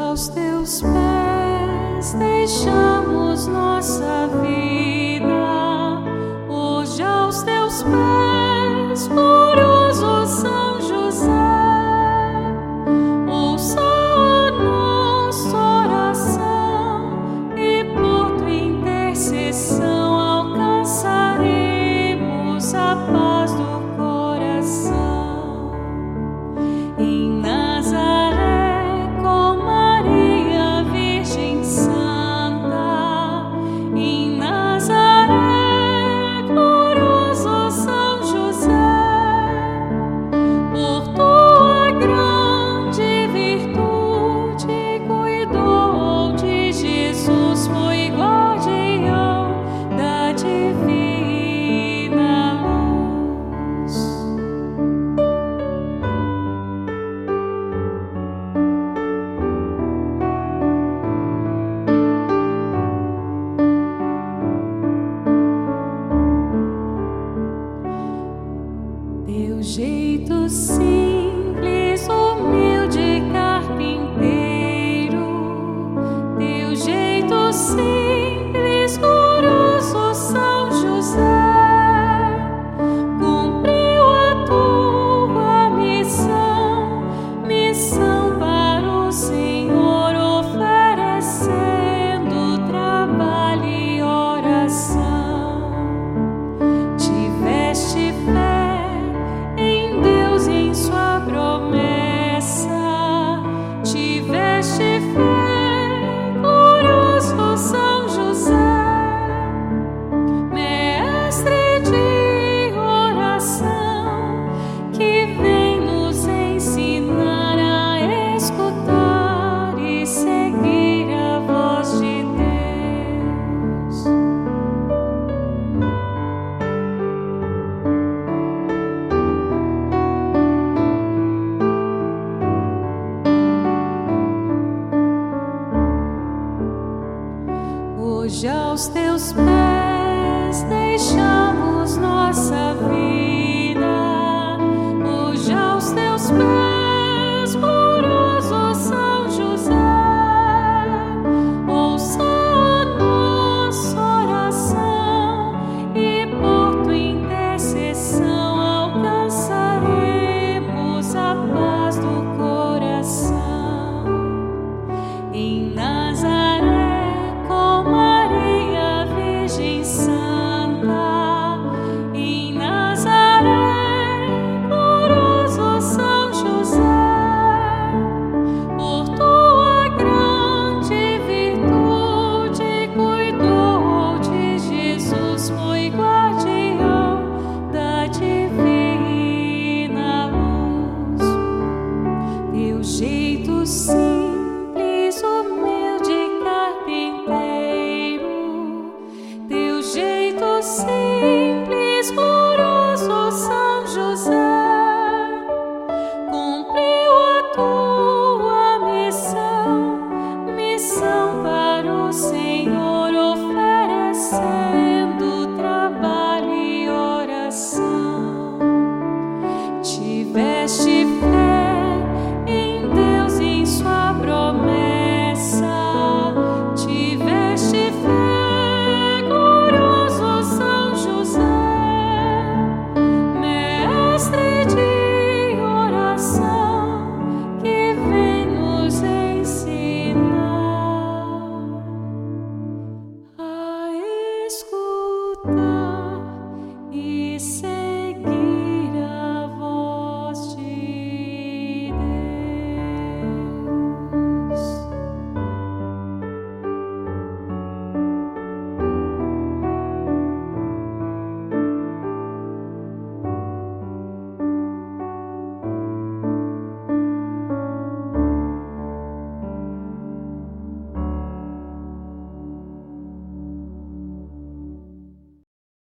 aos teus pés deixamos nossa vida, hoje aos teus pés, glorioso São José, ouça a nossa oração e por tua intercessão alcançaremos a paz do coração. Em Nazaré, com Maria, Virgem Santa, em Nazaré, glorioso São José, por tua grande virtude, cuidou de Jesus, foi guardião da divina luz. Teu jeito simples, humilde carpinteiro, teu jeito simples, glorioso São José, cumpriu a tua missão, missão para o Senhor, oferecendo trabalho e oração. Tiveste fé em Deus e em sua promessa, tiveste fé, glorioso São José, mestre de oração, que vem nos ensinar a escutar e seguir a voz de Deus. Hoje aos teus pés deixamos nossa vida.